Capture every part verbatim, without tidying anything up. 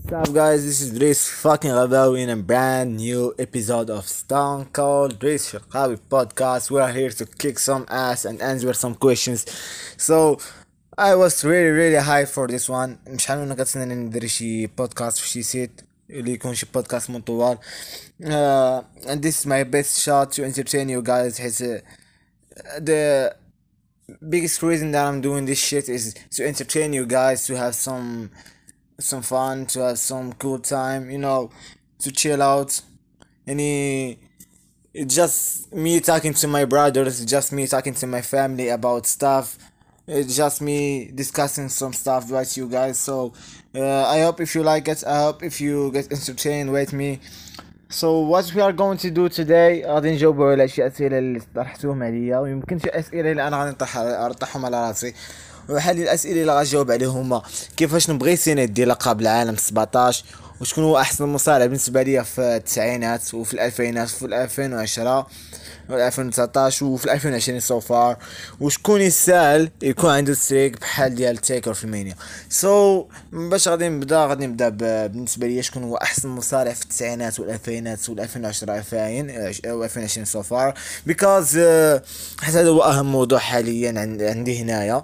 What's up, guys? This is Dries fucking Rabawi in a brand new episode of Stone Cold Dries Shakawi podcast. We are here to kick some ass and answer some questions. So, I was really really hyped for this one. مشحال وانا كنتسنى ندير شي بودكاست في شي سيت اللي يكون شي بودكاست من طوال. Uh, and this is my best shot to entertain you guys. His, uh, the biggest reason that I'm doing this shit is to entertain you guys, to have some some fun, to have some cool time, you know, to chill out. Any, it's just me talking to my brothers, just me talking to my family about stuff. It's just me discussing some stuff with you guys. So uh, I hope if you like it, I hope if you get entertained with me. So what we are going to do today غادي نجاوبوا على شي اسئله اللي طرحتوهم عليا، ويمكن شي اسئله اللي انا غادي نطرح نطرحهم على راسي. وحال الاسئله اللي غنجاوب عليهم هما كيفاش نبغي سيني ديال لقب العالم سبعطاش، وشكون هو احسن مصارع بالنسبه ليا في التسعينات وفي الالفينات وفي ألفين وعشرة و ألفين وتسعطاش وفي ألفين وعشرين سو فار، وشكون يسال يكون عنده ستريك بحال ديال تيكر في المانيا. سو so, باش غادي نبدا غادي نبدا بالنسبه ليا شكون هو احسن مصارع في التسعينات والالفينات والألفين وعشرة ألفين و ألفين وعشرين سو فار، بيكوز حتى هذا هو اهم موضوع حاليا عندي هنايا،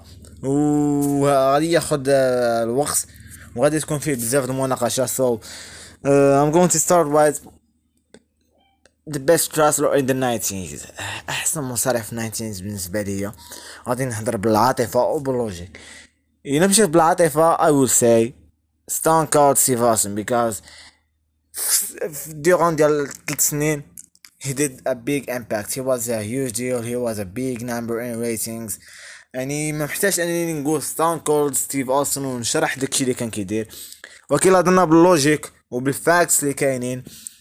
وغادي ياخذ الوقت وغادي تكون فيه بزاف د المناقشه. so uh, I'm going to start with the best wrestler in the nineties. احسن مصارع في الناينتيز بالنسبه ليا غادي نهضر بالعاطفه وباللوجيك. الا مشيت بالعاطفه I will say Stone Cold Steve Austin, because durant ديال ثلاث سنين he did a big impact. He was a huge deal. He was a big number in ratings. يعني ما محتاج انني نقول ستون كولد ستيف اوستن ونشرح داكشي اللي كان كيدير، ولكن هضرنا باللوجيك وبالفاكتس اللي كاينين.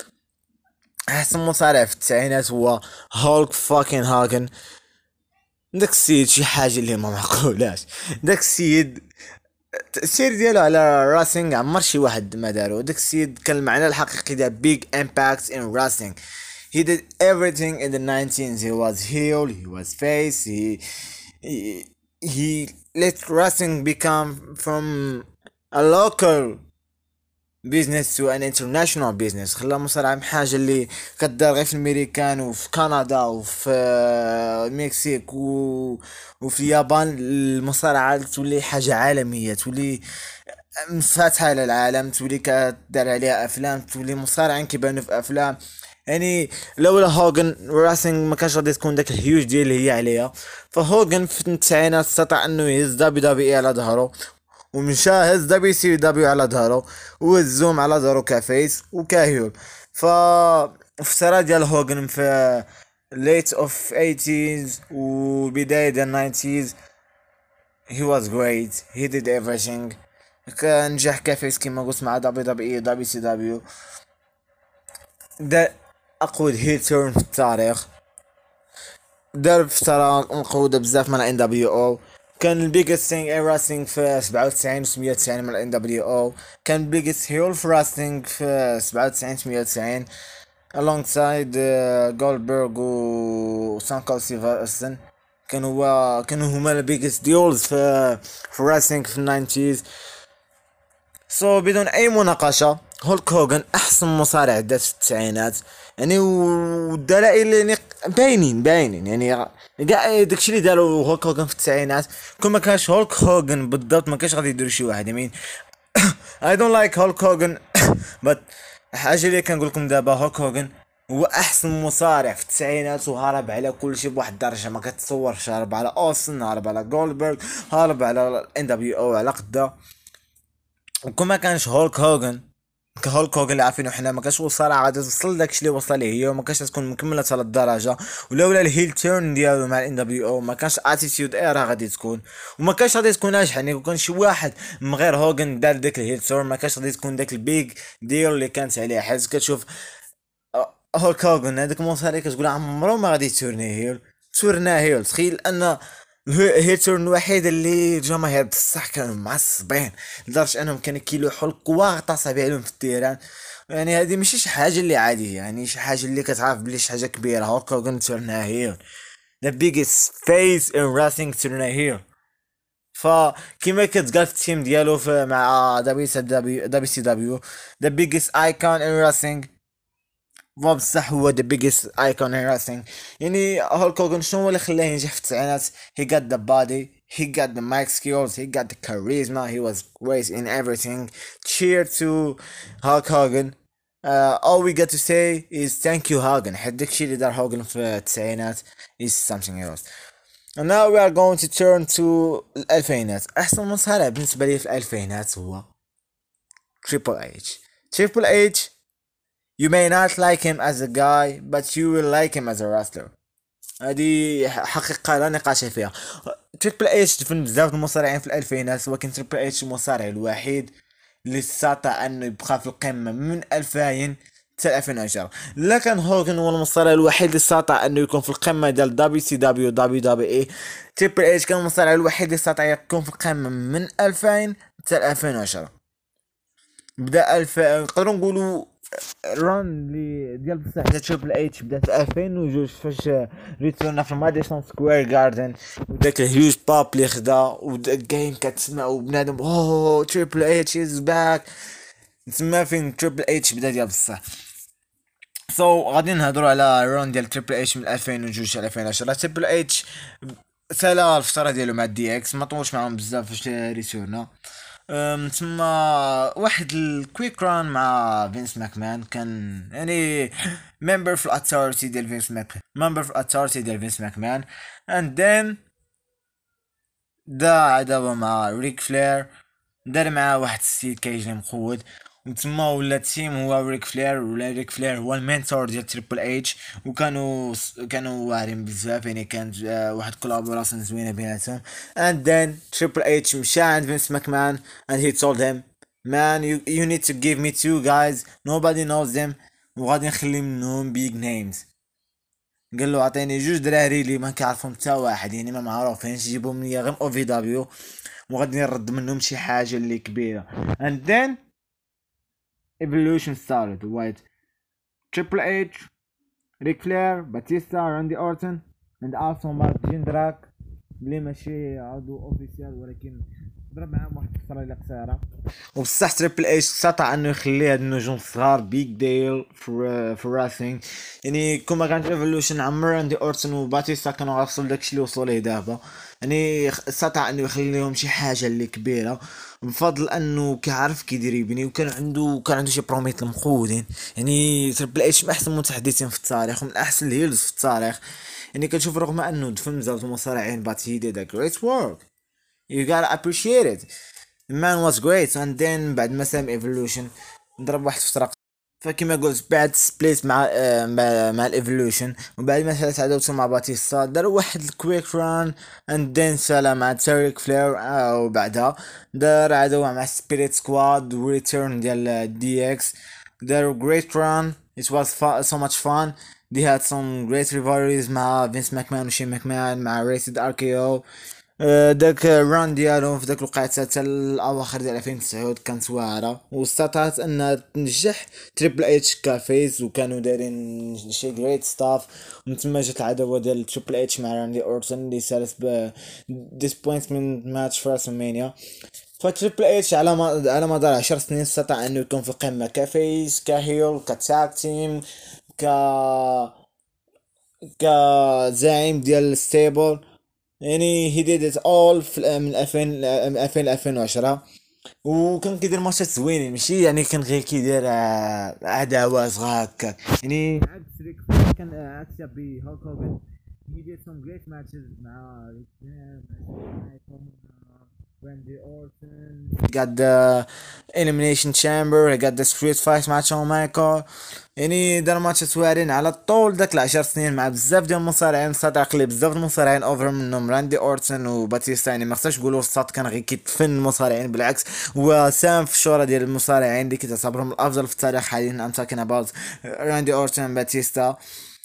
احسن مصارع في التسعينات هو هولك فاكين هاغن. داك السيد شي حاجه اللي ما معقولاش. داك السيد التاثير ديالو على راسينغ عمر شي واحد ما دارو. داك السيد كان المعنى الحقيقي ديال big impacts in wrestling. He did everything in the nineties. He was heel, he was face, he he, he let wrestling become from a local business to an international business. خلى مصارعة حاجة اللي كدار غير في الميريكان وفي كندا وفي المكسيك و... وفي اليابان. المصارعة تولي حاجة عالمية، تولي مفاتحة على العالم، تولي كدار عليها افلام، تولي مصارعين كيبانو في افلام. يعني لولا هوغن راسينغ ما كانش غادي تكون داك الهيوج ديال اللي هي عليها. فهوغن في التسعينات استطاع انه يهز دبليو دبليو اي على ظهره، ومشى هز دبليو سي دبليو على ظهره، وهزوم على ظهره كفيس وكهيول. ف في السرا ديال هوغن في late of eighties وبداية ديال nineties he was great. he did everything. كان نجح كفيس كما قلت مع دبليو دبليو اي دبليو سي دبليو. دا اقود هيل تيرن في التاريخ. دار فترة مقودة بزاف من ان دبليو او. كان البيجست ثينج ان راسلينغ في سبعة وتسعين وثمانية وتسعين من ان دبليو او. كان البيجست هيل في راسلينغ في سبعة وتسعين ثمانية وتسعين alongside جولدبرغ و سانكو سيفرسون. كان هو كانوا هما البيجست ديولز في في راسلينغ في الناينتيز. سو so, بدون اي مناقشه هولك هوغن احسن مصارع دات في التسعينات. يعني والدلائل يعني باينين باينين يعني كاع داكشي اللي داروا هولك هوغن في التسعينات كون ما كانش هولك هوغن بالضبط ما كانش غادي يديروا شي واحد. يمين I don't like هولك هوغن but حاجه اللي كنقول لكم دابا هولك هوغن هو احسن مصارع في التسعينات، وهرب على كل شيء بواحد الدرجه ما كتصورش. هرب على اوستن، هرب على جولدبرغ، هرب على ان دبليو او على قدا. وكون ما كانش هولك هوغن كهولك هوغن اللي عارفينه حنا ما كانش وصل غادي توصل داكشي اللي وصل ليه هي، وما كانش تكون مكمله حتى للدرجه. ولولا الهيل تيرن ديالو مع الان دبليو او ما كانش اتيتيود ايرا غادي تكون، وما كانش غادي تكون ناجح. يعني كان شي واحد من غير هوغن دار داك الهيل تيرن ما كانش غادي تكون داك البيج ديال اللي كانت عليه. حيت كتشوف هولك هوغن هذاك المصاري كتقول عمرو ما غادي تورني هيل تورنا هيل. تخيل ان هيترن الوحيد اللي الجماهير بصح كانوا معصبين لدرجه انهم كانوا كيلوحوا القوا غطاسه عليهم في التيران. يعني هذه ماشي شي حاجه اللي عاديه، يعني شي حاجه اللي كتعرف بلي شي حاجه كبيره. هوكا تورنا هيل the biggest face in wrestling تورنا هيل. فكيما كتقال في التيم ديالو في مع دبليو دبليو سي دبليو the biggest icon in wrestling. بصح هو the biggest icon in wrestling. يعني هولك هوجن شنو هو اللي خلاه ينجح في التسعينات؟ he got the body, he got the mic skills, he got the charisma, he was great in everything. Cheer to Hulk Hogan. Uh, all we got to say is thank you Hogan. حد داكشي اللي دار هوجن في التسعينات is something else. And now we are going to turn to الألفينات. أحسن مصارع بالنسبة لي في الألفينات هو Triple H. Triple H, you may not like him as a guy but you will like him as a wrestler. هذه حقيقة لا نقاش فيها. تريبل اتش دفن بزاف المصارعين في الألفينات، ولكن تريبل اتش المصارع الوحيد اللي استطاع انه يبقى في القمة من ألفين حتى ألفين وعشرة. لكن هوغن هو المصارع الوحيد اللي استطاع انه يكون في القمة ديال دبليو سي دبليو دبليو دبليو اي. تريبل اتش كان المصارع الوحيد اللي استطاع يكون في القمة من ألفين حتى ألفين وعشرة. بدا الف نقدروا نقولوا ران اللي ديال بصح ديال تريبل اتش بدات في ألفين وجوج فاش ريتورنا في ماديسون سكوير جاردن، وداك الهيوج باب اللي خدا وداك كتسمع وبنادم اوه تريبل اتش از باك. تما فين تريبل اتش بدا ديال بصح. سو so, غادي نهضروا على ران ديال تريبل اتش من ألفين وجوج ل ألفين وعشرة. تريبل اتش سالا الفتره ديالو مع الدي اكس، ما طولش معاهم بزاف فاش ريتورنا. ثم واحد الكويك ران مع فينس ماكمان، كان يعني ممبر في الاتوريتي ديال فينس ماكمان ممبر في الاتوريتي ديال فينس ماكمان اند ذن دا عداوه مع ريك فلير، دار معاه واحد السيد كيجي مقود، وتما ولا التيم هو ريك فلير، ولا ريك فلير هو المينتور ديال تريبل اتش، وكانوا كانوا واعرين بزاف، يعني كانت واحد كولابوراسيون زوينه بيناتهم. and then Triple H مشى عند فينس ماكمان and he told him man you, you need to give me two guys nobody knows them وغادي نخلي منهم big names. قال له عطيني جوج دراري اللي ما كيعرفهم حتى واحد، يعني ما معروفينش، جيبهم ليا غير او في دبليو وغادي نرد منهم شي حاجه اللي كبيره. and then evolution started with Triple H, Ric Flair, Batista, Randy Orton and also Mark Jindrak اللي ماشي عضو اوفيسيال ولكن ضرب معاهم واحد الفتره اللي قصيره. وبصح تريبل اتش استطاع انه يخلي هاد النجوم الصغار بيج ديل في في راسينغ. يعني كما كانت ايفولوشن عمر راندي اورتون وباتيستا كانوا غيوصلوا داكشي اللي وصلوا ليه دابا، يعني استطاع انه يخليهم شي حاجه اللي كبيره بفضل انه كيعرف كيدير يبني، وكان عنده كان عنده شي بروميت المقودين. يعني تريبل اتش من احسن المتحدثين في التاريخ ومن احسن الهيلز في التاريخ. يعني كنشوف رغم انه دفن بزاف المصارعين but he did a great work, you gotta appreciate it, the man was great. and then بعد ما سام ايفولوشن ضرب واحد فترة، فكما قلت بعد سبليت مع آه مع, مع الايفولوشن، وبعد ما ثلاث عداوته مع باتيستا دار واحد الكويك ران and then سالا مع تيريك فلير، آه وبعدها دار عداوة مع سبيريت سكواد وريتيرن ديال دي اكس، دار great run, it was fun, so much fun. They had some great rivalries مع فينس ماكمان وشين ماكمان مع ريسيد ار كي او. داك الران ديالهم في داك الوقيته حتى الاواخر ديال ألفين وتسعة كانت واعره، واستطاعت ان تنجح تريبل اتش كافيز، وكانوا دايرين شي جريت ستاف. ومن تما جات العداوه ديال تريبل اتش مع راندي اورتون اللي سالت ب ديسبوينتمنت ماتش في راسلمانيا. فتريبل اتش على ما على مدار عشر سنين استطاع انه يكون في القمه كفيس كهيل كتاك تيم ك كزعيم ديال الستيبل. يعني هي ديد ات اول من ألفين من ألفين ل ألفين وعشرة، وكان كيدير ماتشات زوينين، ماشي يعني كان غير كيدير عداوات صغار هكاك. يعني عكس ريك كان عكس بي هوك هوجن he did some great matches مع Randy Orton. He got the Elimination Chamber, he got the Street Fight مع شون مايكل. يعني دار ماتشات واعرين على طول داك العشر سنين مع بزاف ديال المصارعين. صدق لي بزاف المصارعين اوفر منهم راندي اورتون وباتيستا، يعني ما خصناش نقولوا الصاد كان غير كيتفن المصارعين، بالعكس هو سام في الشهرة ديال المصارعين اللي كتعتبرهم الافضل في التاريخ حاليا. I'm talking about راندي اورتون باتيستا.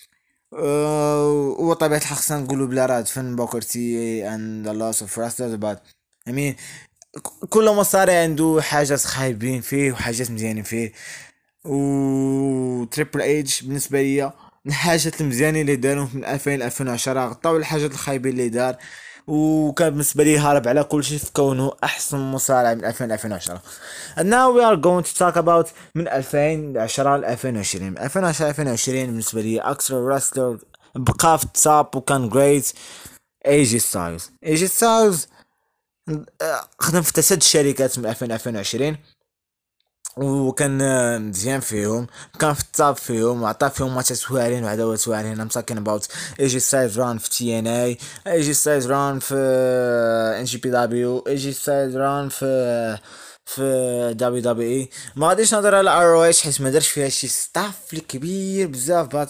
وطبيعة الحق خصنا نقولوا بلا راه دفن بوكرتي and a lot of wrestlers but I mean كل مصارع عنده حاجات خايبين فيه وحاجات مزيانين فيه. و تريبل اتش بالنسبه ليا الحاجات المزيانين اللي دارهم من ألفين ل ألفين وعشرة غطاو الحاجات الخايبين اللي دار، وكان بالنسبه لي هارب على كل شيء في كونه احسن مصارع من ألفين ل ألفين وعشرة. and now we are going to talk about من ألفين وعشرة ل ألفين وعشرين. من ألفين وعشرة ل ألفين وعشرين بالنسبه لي اكثر راسلر بقى في التوب وكان جريت اي جي ستايلز. اي جي ستايلز خدم في تسد الشركات من ألفين ل ألفين وعشرين وكان آه، مزيان فيهم، كان في التوب فيهم وعطى فيهم ماتشات واعرين وعداوات واعرين. ام تاكين اباوت اي جي ستايلز ران في تي ان اي، اي جي ستايلز ران في ان جي بي دبليو، اي جي ستايلز ران في في دبليو دبليو اي. ما غاديش نهضر على ار او اتش حيت ما دارش فيها شي ستاف كبير بزاف. بات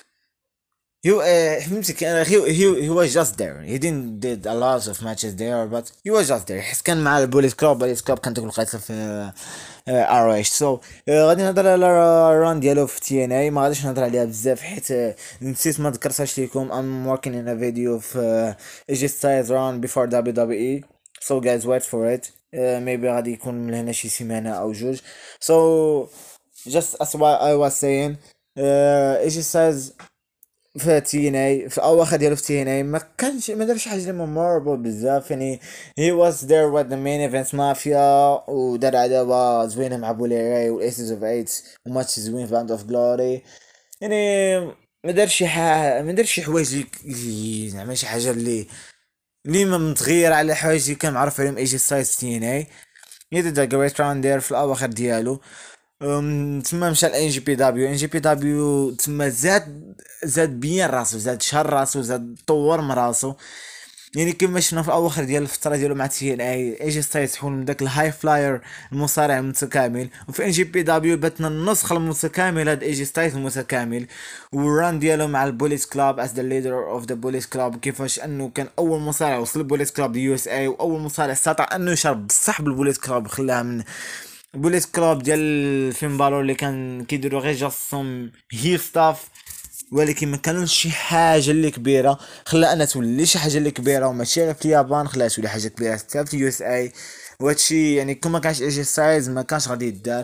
You uh, فهمتي كان he, he, he was just there. He didn't did a lot of matches there but he was just there. حس كان مع البوليس كلوب. البوليس كلوب كانت القيصة في ار اتش. سو غادي نهضر على الران ديالو في تي ان اي. ما غاديش نهضر عليها بزاف حيت آه، نسيت ما ذكرتهاش ليكم. I'm working in a video في اي جي ستايلز run before دبليو دبليو اي. So guys wait for it. uh, maybe غادي يكون من هنا شي سيمانة او جوج. So just as what I was saying اي جي ستايلز في تي ان اي في اواخر ديالو في تي ان اي ما كانش ما دارش حاجه ميمورابل بزاف. يعني he was there with the main events مافيا ودار عداوه زوينه مع بوليراي والايسز اوف ايت وماتش زوين في باند اوف جلوري. يعني ما دارش شي حاجه ما دارش شي حوايج اللي- اللي زعما شي حاجه اللي اللي ما متغير على حوايج اللي كان معروف عليهم اي جي ستايلز تي ان اي. يدير جريت راوند دير في الاواخر ديالو. أم، تما مشى لان جي بي دبليو. ان جي بي دبليو تما زاد زاد بيان راسو، زاد شهر راسو، زاد طور من راسو. يعني كما شفنا في اواخر ديال الفتره ديالو مع تي ان اي اي جي ستايلز حول من داك الهاي فلاير المصارع المتكامل، وفي ان جي بي دبليو باتنا النسخه المتكامله د اي جي ستايلز المتكامل. والران ديالو مع البوليس كلاب as the leader of the police club كيفاش انه كان اول مصارع وصل البوليس كلاب دي يو اس اي واول مصارع استطاع انه يشرب بصح بالبوليس كلاب خلاها من بوليس كلوب ديال فين بالور اللي كان كيديروا غير جاستهم هي ستاف ولكن ما كانوش شي حاجه اللي كبيره. خلا انها تولي شي حاجه اللي كبيره وماشي غير في اليابان، خلاها تولي حاجه كبيره حتى في يو اس اي. وهادشي يعني كون ما كانش اي جي سايز ما كانش غادي يدار.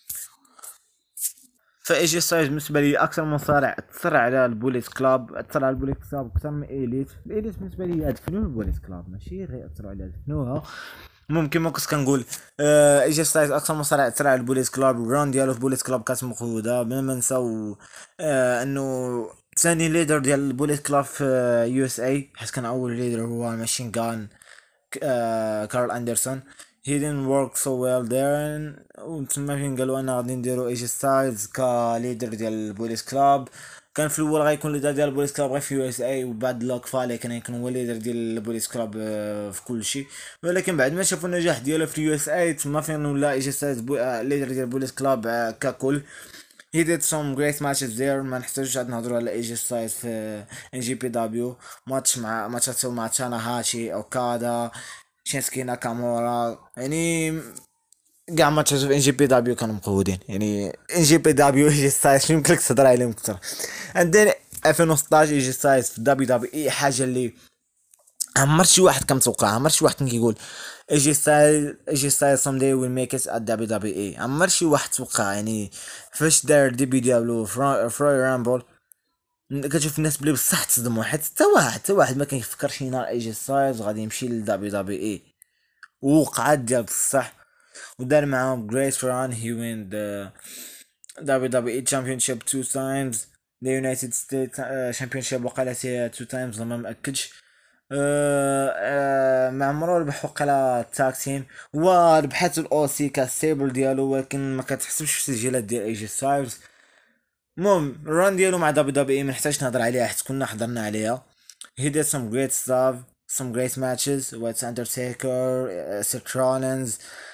فاي جي سايز بالنسبه لي اكثر مصارع اثر على البوليس كلاب، اثر على البوليس كلاب اكثر من ايليت. الايليت بالنسبه لي يدفنوا البوليس كلاب ماشي غير اثروا عليها، دفنوها. ممكن ما كنت كنقول آه اي جي ستايلز اكثر مصارع اثر على البوليس كلاب. الراوند ديالو في بوليس كلاب كانت مقوده بلا ما نساو آه انه ثاني ليدر ديال البوليس كلاب في يو اس اي، حيت كان اول ليدر هو ماشين غان آه كارل اندرسون. he didn't work so well there. وتما فين قالوا انا غادي نديرو ايجي ستايلز كليدر ديال البوليس كلاب. كان في الاول غيكون ليدر ديال البوليس كلاب غير في يو اس اي، وبعد لوك فالي كان يكون هو ليدر ديال البوليس كلاب آه، في كل شيء. ولكن بعد ما شافوا النجاح ديالو في يو اس اي تما فين ولا ايجي ستايلز بو... آه، ليدر ديال البوليس كلاب آه، ككل. he did some great matches there. ما نحتاجوش عاد نهضروا على ايجي ستايلز في ان جي بي دبليو. ماتش مع ماتشات مع تانا هاشي اوكادا شينسكي ناكامورا. يعني كاع ماتشات في ان جي بي دبليو كانوا مقودين. يعني ان جي بي دبليو ايجي ستايلز يمكن لك تهضر عليهم اكثر. عندنا ألفين وستطاش ايجي ستايلز في دبليو دبليو اي حاجه اللي عمر شي واحد كان متوقع، عمر شي واحد كان كيقول ايجي ستايل ايجي ستايل سام داي ويل ميك ات ات دبليو دبليو اي. عمر شي واحد توقع. يعني فاش دار الديبي ديالو في روي رامبل كتشوف الناس بلي بصح تصدموا، حيت حتى واحد حتى واحد ما كيفكر شي نهار ايجي ستايلز غادي يمشي لدبليو دبليو اي. ووقعات ديال بصح ودار معاهم great run. He win the دبليو دبليو اي championship two times, the United States uh, championship وقالت two times ما مأكدش. آه آه مع مرور ربح وقلا التاك تيم وربحات الاو سي كاستيبل ديالو، ولكن ما كتحسبش في التسجيلات ديال ايجي ستايلز. المهم الران ديالو مع دبليو دبليو اي منحتاجش نهضر عليها حيت كنا حضرنا عليها. he did some great stuff, some great matches with Undertaker, uh, Seth Rollins,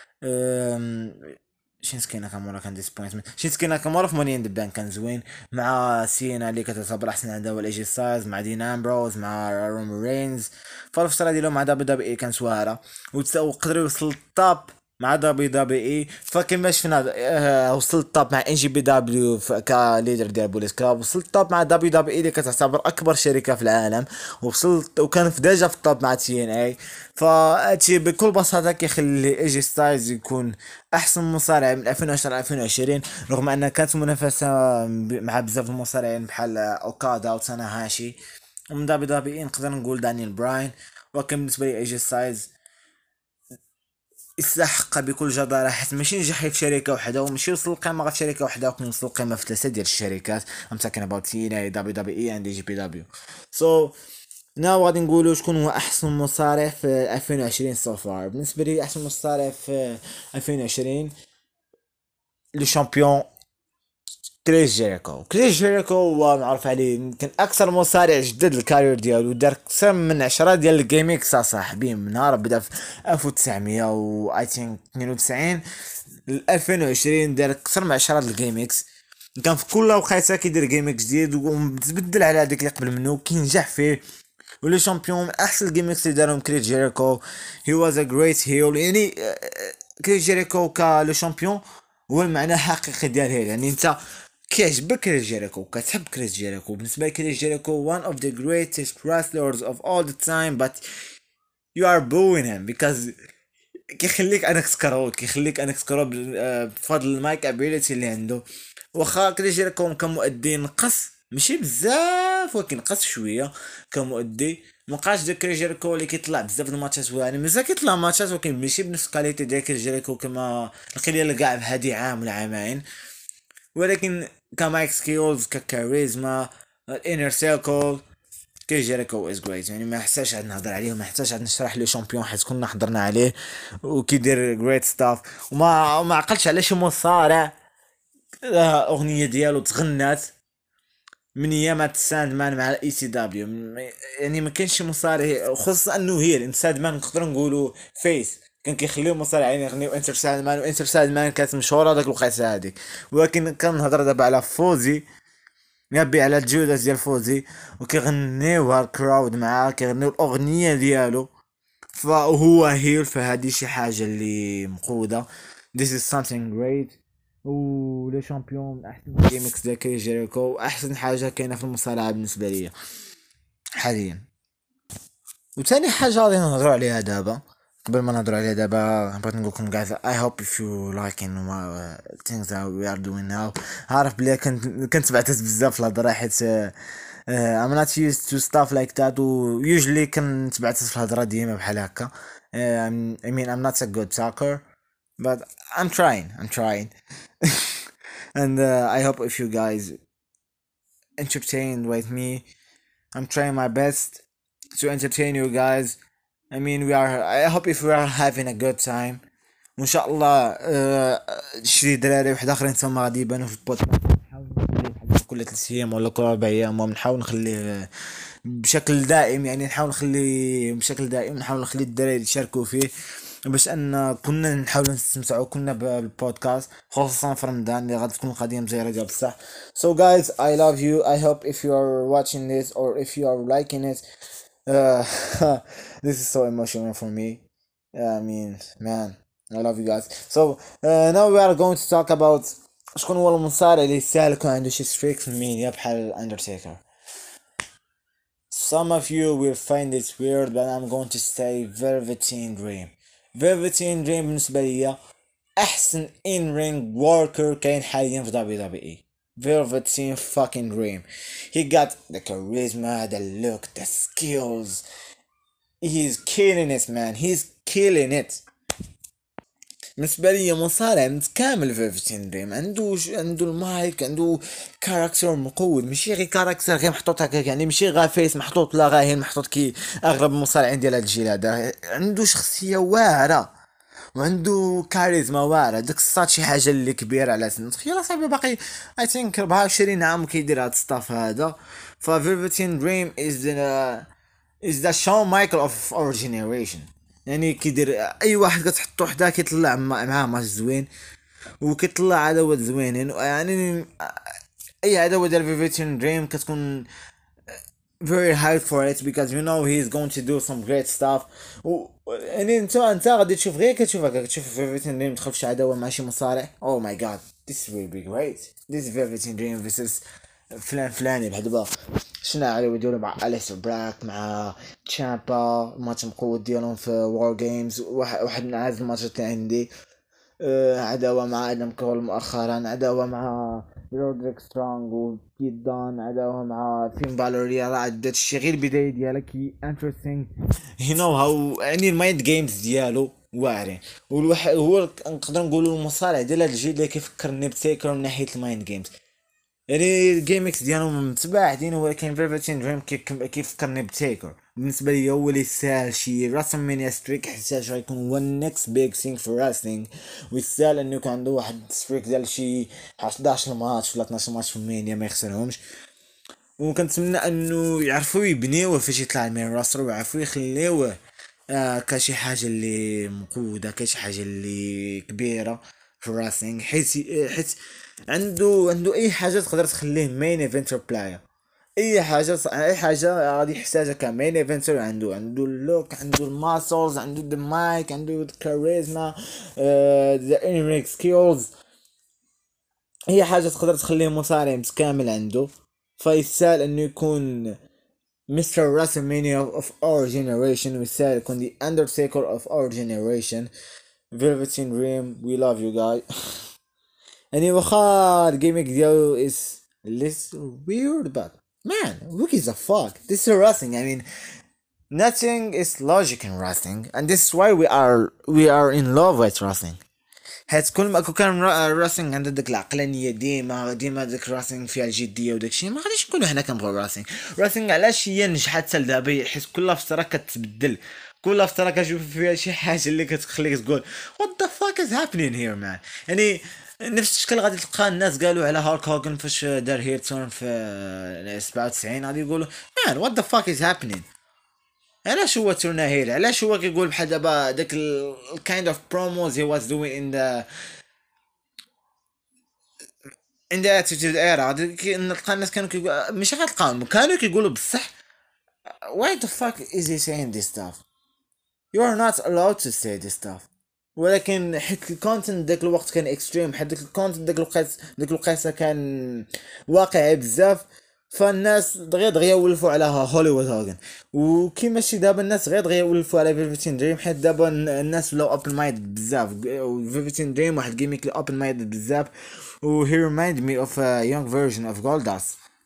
um, شينسكي ناكامورا كان ديسبوينتمنت. شينسكي ناكامورا في ماني ان ذا بانك كان زوين مع سينا اللي كتعتبر احسن عداوه الايجي ستايلز، مع دين امبروز، مع رومان رينز. فالفتره ديالو مع دبليو دبليو اي كانت سواهره وقدر يوصل للطاب مع دبليو دبليو اي. فكما شفنا آه وصل الطاب مع ان جي بي دبليو كليدر ديال بوليس كلاب، وصل الطاب مع دبليو دبليو اي اللي كتعتبر اكبر شركه في العالم، وصلت وكان في ديجا في الطاب مع تي ان اي. فهادشي بكل بساطه كيخلي ايجي ستايلز يكون احسن مصارع من ألفين وعشرة ل ألفين وعشرين، رغم ان كانت منافسه مع بزاف المصارعين بحال اوكادا وتانا هاشي. ومن دبليو دبليو اي نقدر نقول دانيال براين ولكن بالنسبه لي اي جي ستايلز يستحق بكل جدارة، حيت ماشي نجح في شركة وحدة وماشي وصل القمة غير في شركة وحدة، ولكن وصل القمة في ثلاثة ديال الشركات. I'm talking about تي إن إيه دبليو دبليو إي and جي بي دبليو. so ناو غادي نقولوا شكون هو احسن مصارع في ألفين وعشرين so far. بالنسبة لي احسن مصارع في ألفين وعشرين لو شامبيون كريس جيريكو. كريس جيريكو هو معروف عليه يمكن اكثر مصارع جدد الكارير ديالو، دار اكثر من عشرة ديال الجيميكس صاحبي من نهار بدا في ألف وتسعمية و اي ثينك اثنين وتسعين ل ألفين وعشرين، دار اكثر من عشرة ديال الجيميكس. كان في كل وقيته كيدير جيميك جديد ومتبدل على هذاك اللي قبل منه، كينجح فيه. ولا شامبيون من احسن الجيميكس اللي دارهم كريس جيريكو. هي واز ا جريت هيل يعني. كريس جيريكو كا شامبيون هو المعنى الحقيقي ديال هيل. يعني انت كيعجبك كريس جيريكو كتحب كريس جيريكو. بالنسبه لي كريس جيريكو one of the greatest wrestlers of all the time, but you are booing him because كيخليك انك تكرهو كيخليك انك تكرهو بفضل المايك ابيليتي اللي عنده. واخا كريس جيريكو كمؤدي نقص ماشي بزاف ولكن نقص شويه كمؤدي. مابقاش داك كريس جيريكو اللي كيطلع بزاف د الماتشات، يعني مازال كيطلع ماتشات ولكن ماشي بنفس الكاليتي ديال كريس جيريكو كما لقينا كاع بهادي عام ولا عامين. ولكن كمايك سكيلز ككاريزما الانر سيركل كريس جيريكو از جريت. يعني ما يحتاجش عاد نهضر عليه وما يحتاجش عاد نشرح لي شامبيون حيت كنا حضرنا عليه وكيدير جريت ستاف. وما ما عقلتش على شي مصارع اغنيه ديالو تغنات من ايامات ساند مان مع الاي سي دبليو. يعني ما كاينش شي مصارع خصوصا انه هي الانساد مان نقدر نقولوا فيس كان كيخليو مصارعين يغنيو انتر ساند مان، وانتر ساند مان كانت مشهوره داك الوقيته هذيك. ولكن كنهضر دابا على فوزي، يبي على الجودة ديال فوزي وكيغنيوها الكراود معاه كيغنيو الاغنيه ديالو. فهو هيل فهادي شي حاجه اللي مقوده. this is something great. و لي شامبيون من احسن جيمكس ديال كريس جيريكو، احسن حاجه كاينه في المصارعه بالنسبه ليا حاليا. وثاني حاجه غادي نهضروا عليها دابا قبل ما نهضروا عليها دابا بغيت نقول لكم guys I hope if you like in uh, things that we are doing now. عارف بلي كنت كنت بعتت بزاف في الهضره حيت uh, I'm not used to stuff like that و usually كنت بعتت في الهضره ديما بحال هكا. uh, I mean I'm not a good talker but I'm trying I'm trying and uh, I hope if you guys entertained with me. I'm trying my best to entertain you guys. I mean we are I hope if we are having a good time. وان شاء الله شي دراري واحد اخرين تما غادي يبانوا في البودكاست. نحاول نخليه بحال كل ثلاث ايام ولا كل اربع ايام ونحاول نخليه بشكل دائم. يعني نحاول نخليه بشكل دائم نحاول نخلي الدراري يشاركوا فيه باش ان كنا نحاول نستمتعوا كنا بالبودكاست خصوصا في رمضان اللي غادي تكون القضيه مزيره ديال بصح. So guys I love you. I hope if you are watching this or if you are liking it uh, this is so emotional for me. I mean man I love you guys. So uh, now we are going to talk about شكون هو المصارع اللي يستاهل يكون عنده شي ستريك في الميديا بحال الاندرتيكر. Some of you will find it weird but I'm going to say Velveteen Dream. Velveteen Dream بالنسبة ليا أحسن in ring worker كاين حاليا في دبليو دبليو إي. Velveteen fucking Dream. He got the charisma, the look, the skills. He's killing it man. He's killing it. بالنسبة لي مصارع متكامل فيفتين دريم. عنده عنده المايك عنده كاركتر مقود ماشي غير كاركتر غير محطوط هكاك. يعني ماشي غير فيس محطوط لا غير محطوط كي اغلب المصارعين ديال هاد الجيل هذا. عنده شخصية واعرة وعنده كاريزما واعرة. داك الصاد شي حاجة اللي كبيرة على سن. تخيل صاحبي باقي اي ثينك أربعة وعشرين عام كيدير هاد الستاف هذا. ففيفتين دريم از is the Shawn Michael of our generation. يعني كيدير اي واحد كتحطو حدا كيطلع معاه ماتش زوين وكيطلع عداوات زوينين. يعني اي عداوه ديال فيفتين دريم كتكون very hyped for it because you know he's going to do some great stuff. و يعني انت انت غادي تشوف غير كتشوف هكا كتشوف فيفتين دريم تدخل في شي عداوه مع شي مصارع. oh my god this will be great. this is فيفتين دريم versus فلان فلاني بحال دابا شنا على يديروا مع أليس براك مع تشامبا ماتش مقود ديالهم في وار جيمز. واحد واحد من اعز الماتشات اللي عندي آه، عداوة مع ادم كول مؤخرا، عداوة مع رودريك سترونغ وبيت دان، عداوة مع فين بالوريا. راه عدات الشي غير البداية ديالها كي انتريستينغ. هي نو هاو يعني المايند جيمز ديالو واعرين. والواحد هو نقدر نقولوا المصارع ديال هاد الجيل اللي كيفكرني بتيكر من ناحية المايند جيمز. يعني الجيمكس ديالهم متباعدين، ولكن فيرفتين دريم كيفكرني بتيكر. بالنسبه لي هو اللي يستاهل شي راسل مانيا ستريك، حيت غيكون هو النكست بيج ثينغ في راسلينغ، ويستاهل انه يكون عنده واحد ستريك ديال شي حداش ماتش ولا اثناش ماتش في مانيا ما يخسرهمش. وكنتمنى انه يعرفوا يبنيوه فاش يطلع المين راستر، ويعرفوا يخليوه آه كشي حاجه اللي مقوده، كشي حاجه اللي كبيره في الراسلينغ. حيت حيت عنده عنده اي حاجه تقدر تخليه مين ايفنتر بلاير. اي حاجه ص... اي حاجه غادي يحتاجها كمين ايفنتر. عنده عنده اللوك، عنده الماسلز، عنده المايك، عنده الكاريزما، ذا انريك سكيلز. هي حاجه تقدر تخليه مصارع متكامل عنده. فيستاهل انه يكون مستر WrestleMania of our generation، ويستاهل يكون the Undertaker of our generation. Velveteen Dream, we love you guys. يعني واخا الجيميك ديالو is less weird, but man, who gives a fuck? This is wrestling. I mean, nothing is logic in wrestling, and this is why we are we are in love with wrestling. حيت كل ما كان الراسينغ عندها ديك العقلانيه، ديما ديما ديك الراسينغ فيها الجديه وداك الشيء، ما غاديش نقولوا حنا كنبغيو الراسينغ. الراسينغ علاش هي نجحت حتى لدابا؟ حيت كل فتره كتبدل، كل فتره كتشوف فيها شي حاجه اللي كتخليك تقول what the fuck is happening here man. يعني نفس الشكل غادي تلقى الناس قالوا على هالك هوغن فاش دار هيرتون في سبعة وتسعين، غادي يقولوا man what the fuck is happening. علاش هو تورنا هيل؟ علاش هو كيقول بحال دابا داك ال kind of promos he was doing in the in the attitude era. نلقى الناس كانوا كيقول ماشي غتلقاهم كانوا كيقولوا بصح why the fuck is he saying this stuff. you are not allowed to say this stuff. ولكن حيت الكونتنت داك الوقت كان اكستريم، حيت داك الكونتنت داك الوقت داك الوقيته كان واقعي بزاف، فالناس دغيا دغيا ولفوا على هوليوود هوغن. وكيما شي دابا الناس غير دغيا ولفوا على فيفتين دريم، حيت دابا الناس ولاو اوبن مايند بزاف. فيفتين دريم واحد جيميك اللي اوبن مايند بزاف، و he remind me of a young version of Goldust.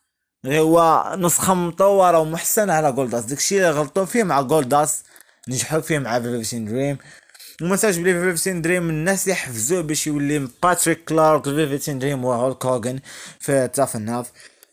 هو نسخة مطورة ومحسنة على جولداس. داكشي اللي غلطوا فيه مع جولداس نجحوا فيه مع فيفتين دريم. وما تنساش بلي فيفتين دريم الناس اللي حفزوه باش يولي باتريك كلارك. فيفتين دريم وهولك هوغن في تاف الناف.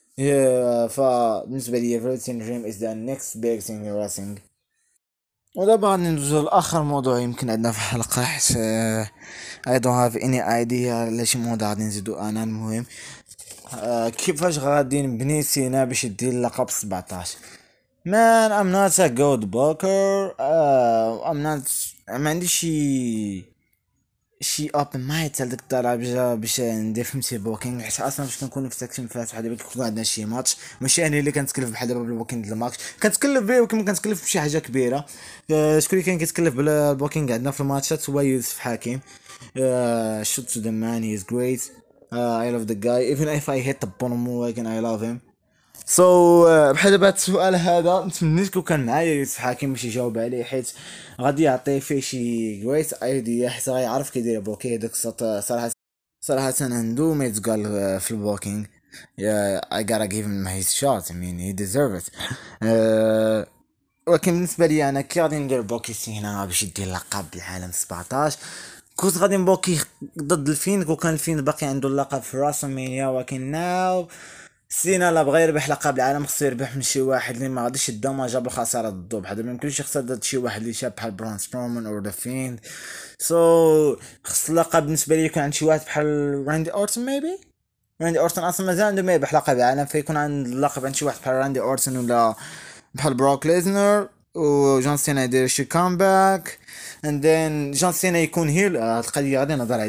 فبالنسبة لي فيفتين دريم is the next big thing in wrestling. ودابا غادي ندوزو لاخر موضوع يمكن عندنا في الحلقة، حيت I don't have any idea على شي موضوع غادي نزيدو انا. المهم آه كيفاش غادي نبني سينا باش يدير اللقب سبعطاش. Man, I'm not a good booker. Uh, I'm not. ما عنديش شي شي اوبن مايند تاع ديك الدرجه باش ندير فهمتي بوكينغ. حيت اصلا فاش كنكونوا في ساكشن فات بحال دابا كيكون عندنا شي ماتش، ماشي انا اللي كنتكلف بحال دابا بالبوكينغ ديال الماتش. كنتكلف به ولكن كنتكلف بشي حاجه كبيره. uh, شكون اللي كان كيتكلف بالبوكينغ عندنا في الماتشات هو يوسف حكيم. shoot to the man, he is great. uh, I love the guy even if I hate the bottom again, I love him. سو so, uh, بحال دابا هاد السؤال هذا نتمنيت لو كان معايا يوسف حكيم باش يجاوب عليه، حيت غادي يعطي فيه شي جريت ايديا، حيت غيعرف كيدير بوكي. داك الصوت صراحه صراحه عنده ما يتقال في البوكينغ. yeah, I gotta give him his shot. I mean he deserve it. uh, ولكن بالنسبه لي انا كي غادي ندير بوكي هنا باش يدير لقب العالم سبعطاش، كنت غادي نبوكي ضد الفين. وكان الفين باقي عنده اللقب في راسلمانيا، ولكن ناو سينا لا بغى يربح لقب العالم خصو يربح من شي واحد اللي ما غاديش يدمج بالخساره ضدو. بحال ما يمكنش يخسر ضد شي واحد اللي شاب بحال برون سترومان او ذا فيند. سو خص اللقب بالنسبه لي يكون عند شي واحد بحال راندي اورتون. ميبي راندي اورتون اصلا مازال عنده ما يربح لقب العالم، فيكون عند اللقب عند شي واحد بحال راندي اورتون ولا بحال بروك ليزنر. وجون سينا يدير شي كامباك اند ذن جون سينا يكون هيل. هاد القضيه غادي نهضر عليها.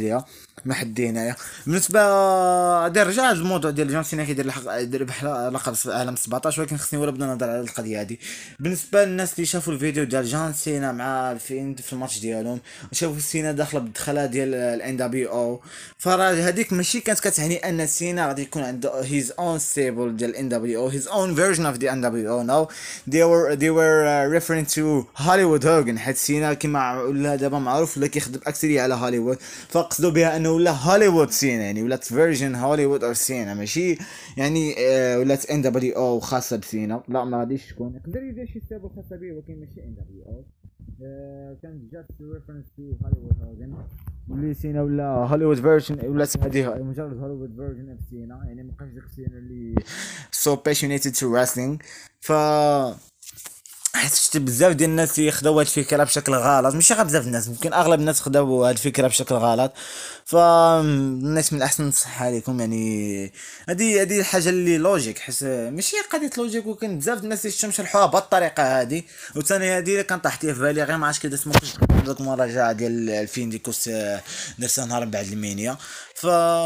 ما حد هنايا. بالنسبه غادي نرجع للموضوع ديال جون سينا كيدير الحق يدير بحال لقب عالم سبعطاش، ولكن خصني ولا بدا نهضر على القضيه هادي. بالنسبه للناس اللي شافوا الفيديو ديال جون سينا مع الفيند في الماتش ديالهم وشافوا سينا داخله بالدخله ديال الان دبليو او، فراه هذيك ماشي كانت كتعني ان سينا غادي يكون عنده هيز اون ستيبل ديال الان دبليو او، هيز اون فيرجن اوف ذا ان دبليو او. نو they were they were uh, referring to هوليوود هوجن، حيت سينا كيما ولا دابا معروف ولا كيخدم اكثريه على هوليوود، فقصدوا بها انه ولا هوليوود سينا، يعني ولات فيرجن هوليوود او سينا، ماشي يعني آه ولات ان دبليو او خاصه بسينا، لا ما غاديش تكون. يقدر يدير شي ستيبل خاصه به ولكن ماشي ان دبليو او. كان جاست ريفرنس تو هوليوود هوجن، ولي سينا ولا هوليوود فيرجن، ولات هذه مجرد هوليوود فيرجن اوف سينا، يعني مابقاش داك سينا اللي سو باشيونيتد تو راسلينغ. ف حيت شفت بزاف ديال الناس ياخذوا هاد الفكره بشكل غلط، ماشي غير بزاف الناس، ممكن اغلب الناس خداو هاد الفكره بشكل غلط. فالناس من الاحسن نصح عليكم، يعني هادي هادي الحاجه اللي لوجيك، حيت ماشي قضيه لوجيك، وكان بزاف د الناس اللي شرحوها بهاد الطريقه هادي. وثاني هادي اللي كان طاحت لي في بالي غير ما عرفتش كي درت ممكن ديك المراجعه ديال الفين ديكوس درتها نهار بعد المانيا. ف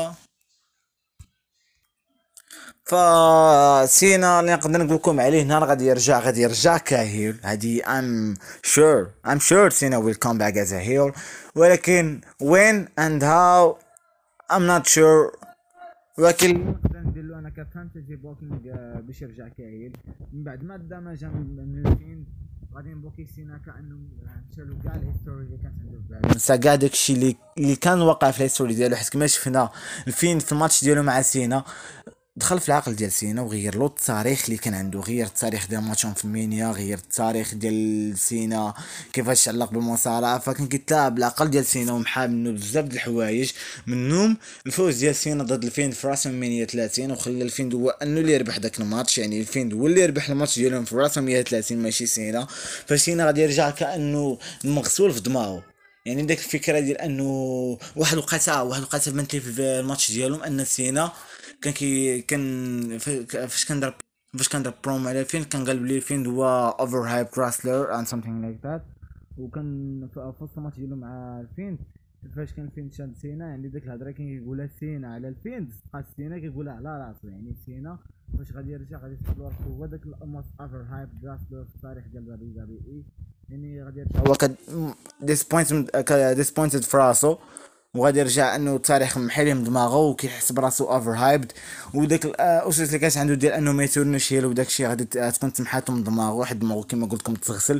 فسينا اللي نقدر نقول لكم عليه نهار غادي يرجع غادي يرجع كهيل، هادي I'm sure I'm sure سينا will come back as a heel، ولكن when and how I'm not sure. ولكن اللي نقدر ندير له انا كفانتزي بوكينغ باش يرجع كهيل من بعد ما دمج من الفين، غادي نبوكي سينا كانه شالو كاع الهيستوري اللي كانت عنده في بالو، نسى كاع داكشي اللي اللي كان واقع في الهيستوري ديالو، حيت كما شفنا الفين في الماتش ديالو مع سينا دخل في العقل ديال سينا وغير له التاريخ اللي كان عنده، غير التاريخ ديال ماتشون في المانيا، غير التاريخ ديال سينا كيفاش علق بالمصارعه. فكان كيتلاعب بالعقل ديال سينا ومحا منه بزاف د الحوايج، منهم الفوز ديال سينا ضد الفيند في راس مانيا ثلاثين، وخلى الفيند هو انه اللي يربح داك الماتش، يعني الفيند هو اللي يربح الماتش ديالهم في راس مانيا ثلاثين ماشي سينا. فسينا غادي يرجع كانه مغسول في دماغه، يعني ديك الفكره ديال انه واحد الوقيته واحد الوقيته بانت لي في الماتش ديالهم ان سينا كان كي كان فاش كان دار فاش كان دار بروم على فين كان قال بلي فين هو اوفر هايب راسلر اند سامثينغ لايك ذات. وكان في وسط الماتش ديالو مع الفين فاش كان فين شاد سينا، يعني ديك الهضره كان كيقولها سينا على الفين بقى سينا كيقولها على راسو، يعني سينا فاش غادي يرجع غادي يثبت راسو هو داك الموست اوفر هايب راسلر في التاريخ ديال دبليو دبليو اي، يعني غادي يرجع هو كد ديسبوينتد ديسبوينتد في راسو، وغادي يرجع انه التاريخ محيلي من دماغه وكيحس براسو اوفر هايبد، وداك الاسس اللي كانت عنده ديال انه ما يتورنش هيل وداك الشيء غادي تكون تمحاتو من دماغه، واحد دماغه كما قلت لكم تغسل.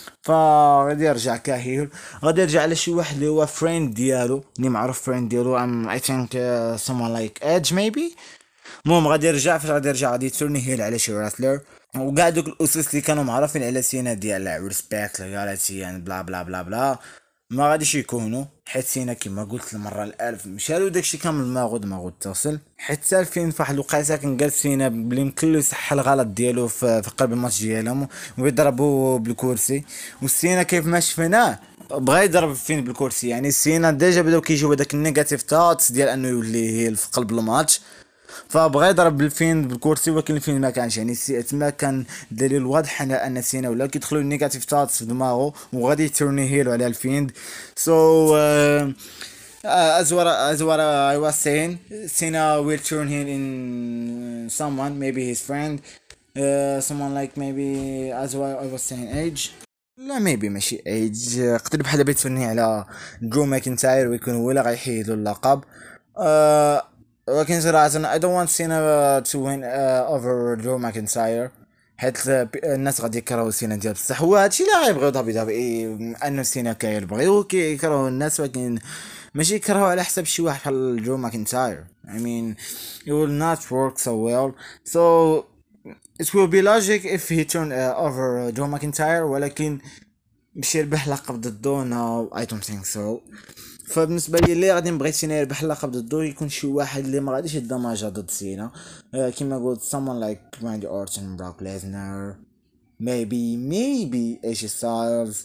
فغادي يرجع كهيل، غادي يرجع على شي واحد اللي هو فريند ديالو اللي معروف فريند ديالو ام اي ثينك someone like edge maybe. المهم غادي يرجع فاش غادي يرجع غادي يتورني هيل على شي راسلر، وكاع دوك الاسس اللي كانوا معروفين على سينا ديال ريسبكت لويالتي يعني بلا بلا بلا بلا ما غاديش يكونوا، حيت سينا كما قلت المره الالف مشالو داكشي كامل دماغو دماغو اتصل. حتى الفين فواحد الوقيته كان قال سينا بلي يمكن له يصح الغلط ديالو في, في قلب الماتش ديالهم ويضربوا بالكرسي، والسينا كيف ما شفناه بغا يضرب فين بالكرسي، يعني سينا ديجا بداو كيجيو هذاك النيجاتيف ثوتس ديال انه يولي هي في قلب الماتش، فبغى يضرب بالفين بالكرسي ولكن الفين ما كانش، يعني تما كان دليل واضح على ان سينا ولا كيدخلوا النيجاتيف ثوتس في دماغه وغادي يتورني هيلو على الفيند. سو so, uh, uh, as what as what uh, I was saying, Cena will turn him in someone, maybe his friend, uh, someone like maybe as what I was saying age. لا ميبي ماشي ايج، قدر بحال بيتفني على درو ماكنتاير ويكون هو اللي غيحيدو اللقب. أه ولكن صراحة I don't want Cena to win uh, over Drew McIntyre، حيت الناس غادي يكرهوا سينا ديال بصح، هو هادشي اللي غيبغيو دبليو دبليو اي انه سينا كيبغيو كيكرهوا الناس، ولكن ماشي يكرهوا على حساب شي واحد بحال درو ماكنتاير. I mean it will not work so well, so it will be logic if he turned uh, over Drew McIntyre، ولكن باش يربح لقب ضده no I don't think so. فبالنسبه لي اللي غادي نبغي سينا يربح اللقب ضده يكون شي واحد اللي ما غاديش يدمجها ضد سينا، آه كيما قلت someone like Randy Orton, Brock Lesnar, maybe maybe ايش ستايلز،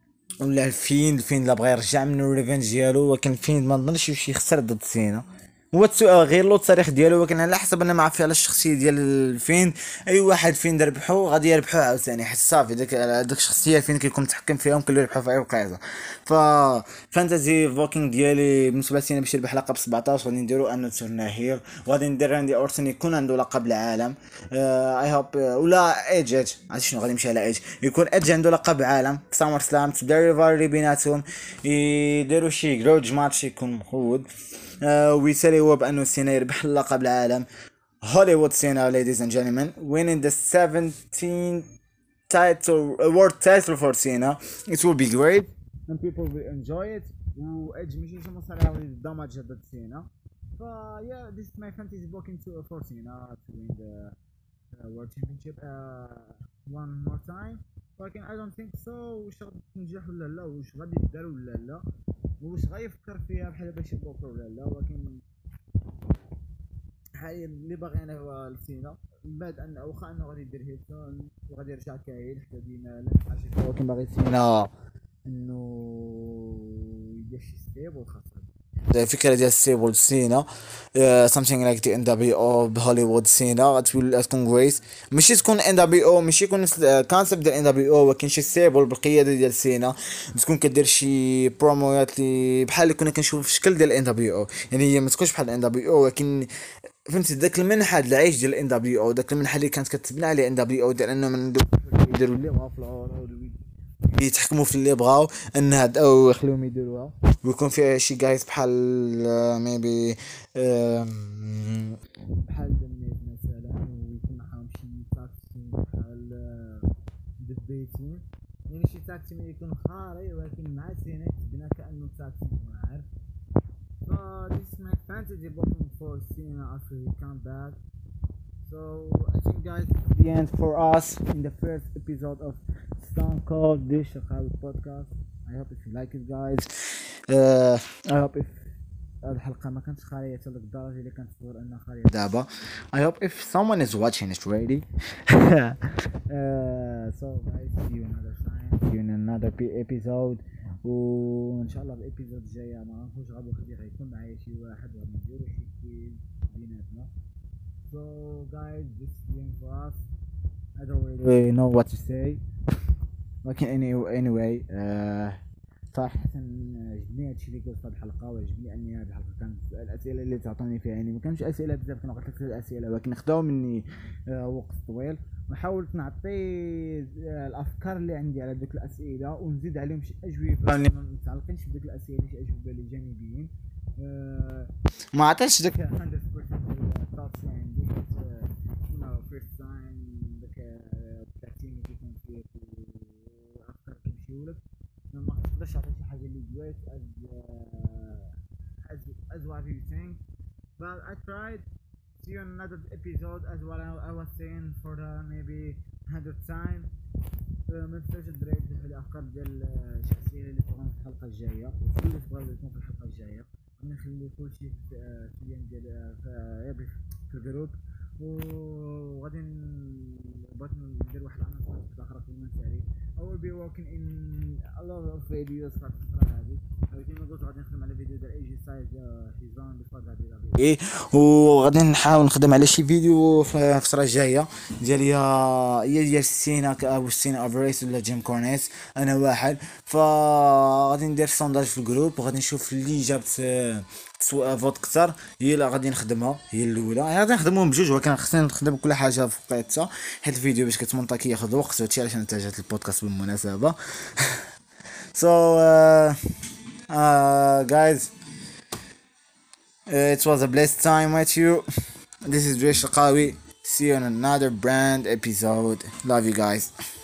ولا الفين الفين لا بغى يرجع منه الريفنج ديالو، ولكن الفين ما نظنش يمشي يخسر ضد سينا، هو السؤال غير له التاريخ ديالو، ولكن على حسب انا ما عرفتش على الشخصيه ديال فين. اي واحد فين ربحو غادي يربحو عاوتاني، حيت صافي داك داك الشخصيه فين كيكون متحكم فيهم كله يربحو في اي وقيته. ف فانتازي فوكينغ ديالي بالنسبه لي باش يربح لقب سبعطاش غادي نديرو انو تورناهير، وغادي ندير راندي اورتون يكون عنده لقب العالم. اي هوب ولا ايج ايج عرفتي شنو غادي نمشي على ايج، يكون ايج عنده لقب عالم في سامر سلام، تبدا ريفالري بيناتهم، يديروا شي جروج ماتش يكون مخود. آه ويساليو بانه سينا يربح اللقب العالم. هوليوود سينا ladies and gentlemen winning the seventeenth title uh, world title for Cena. It will be great and people will enjoy it. و ايدج ماشي شي مصارع ولي دامج ضد سينا. ف yeah, this is my fantasy booking to for Cena to win the uh, world championship uh, one more time. ولكن I don't think so. واش غادي تنجح ولا لا، واش غادي يدار ولا لا، واش غيفكر فيها بحال باش يبوكر ولا لا. ولكن حاليا اللي باغي انا هو لسينا، من بعد ان واخا انه غادي يدير هيلتون وغادي يرجع كاين حتى ديما لا نحاجه، ولكن باغي سينا انه يدير شي ستيبل خاصه. الفكره ديال ستيبل سينا something like the إن دبليو أو بهوليوود سينا غتولي تكون كويس، ماشي تكون إن دبليو أو ماشي يكون كونسيبت ديال إن دبليو أو، ولكن شي ستيبل بالقياده ديال سينا، تكون كدير شي بروموات لي بحال اللي كنا كنشوف في الشكل ديال إن دبليو أو. يعني هي ما تكونش بحال إن دبليو أو، ولكن فهمتي داك المنحى العيش ديال إن دبليو أو، داك المنحى اللي كانت كتبنى عليه إن دبليو أو، ديال انهم يديروا اللي بغاو في العروض، يتحكموا في اللي بغاو انها او يخليهم يديروها، ويكون فيها شي جايز بحال ميبي بحال دميت مثلا، ويكون معاهم شي تاكسي بحال دبيتين، يعني شي تاكسي اللي يكون خاري ولكن مع سينا يتبنى كانه تاكسي عارف. So this is my fantasy booking for Cena after he come back. So I think guys the end for us in the first episode of Stone Cold Dish Shakawi podcast. I hope if you like it guys. Uh, I hope if الحلقة ما كانتش خالية حتى للدرجة اللي كنتصور انها خالية دابا. I hope if someone is watching it ready. uh, so guys see you another time, see you in another episode. وان شاء الله الابيزود الجايه ما نعرفوش غادي خدي غيكون معايا شي واحد غادي نديرو شي كويز بيناتنا. So guys this is the end for us. I don't really know what to say. ولكن anyway, anyway uh, صراحة عجبني هادشي اللي قلت في هاد الحلقة، وعجبني اني هاد الحلقة كانت الاسئلة اللي تعطوني فيها يعني ما كانش اسئلة بزاف، كانوا غير ثلاثة الاسئلة ولكن خداو مني آه وقت طويل، وحاولت نعطي آه الافكار اللي عندي على دوك الاسئلة ونزيد عليهم شي اجوبة اللي ما متعلقينش بديك الاسئلة، شي اجوبة اللي جانبيين. آه ما عطيتش داك مية بالمية الثوتس اللي عندي، كيما فيرست تايم داك التعتيم اللي كيكون فيه والافكار كيمشيولك، ما نقدرش نعطي شي حاجه اللي جويت as uh, as as what you think, but I tried. See you in another episode as what I, I was saying for the maybe hundredth time. ما تنساوش الدراري تلحقوا الافكار ديال الشخصيه اللي تكون في الحلقه الجايه، وكل اللي تبغيو يكون في الحلقه الجايه غادي نخلي كلشي في اليوم ديال في الجروب، وغادي بغيت ندير واحد العناصر اخرى في المنتالي. I will be working in a lot of videos في الفترة هذه، كما قلت غادي نخدم على فيديو ديال اي جي سايز حزام بفضل هذه ايه، وغادي نحاول نخدم على شي فيديو في الفترة الجاية ديال يا ديال سينا او سينا افريس ولا جيم كورنيس، انا واحد. فغادي ندير سونداج في الجروب وغادي نشوف اللي جابت فوت كثر هي اللي غادي نخدمها، هي الاولى غادي نخدمهم بجوج، ولكن خصني نخدم كل حاجه في وقيتها حيت الفيديو باش كتمونطا كياخذ وقت، وهادشي علاش اتجهت للبودكاست بالمناسبه. so uh, uh, guys uh, it was a blessed time with you. This is Dre Shakawi. See you on another brand episode. Love you guys.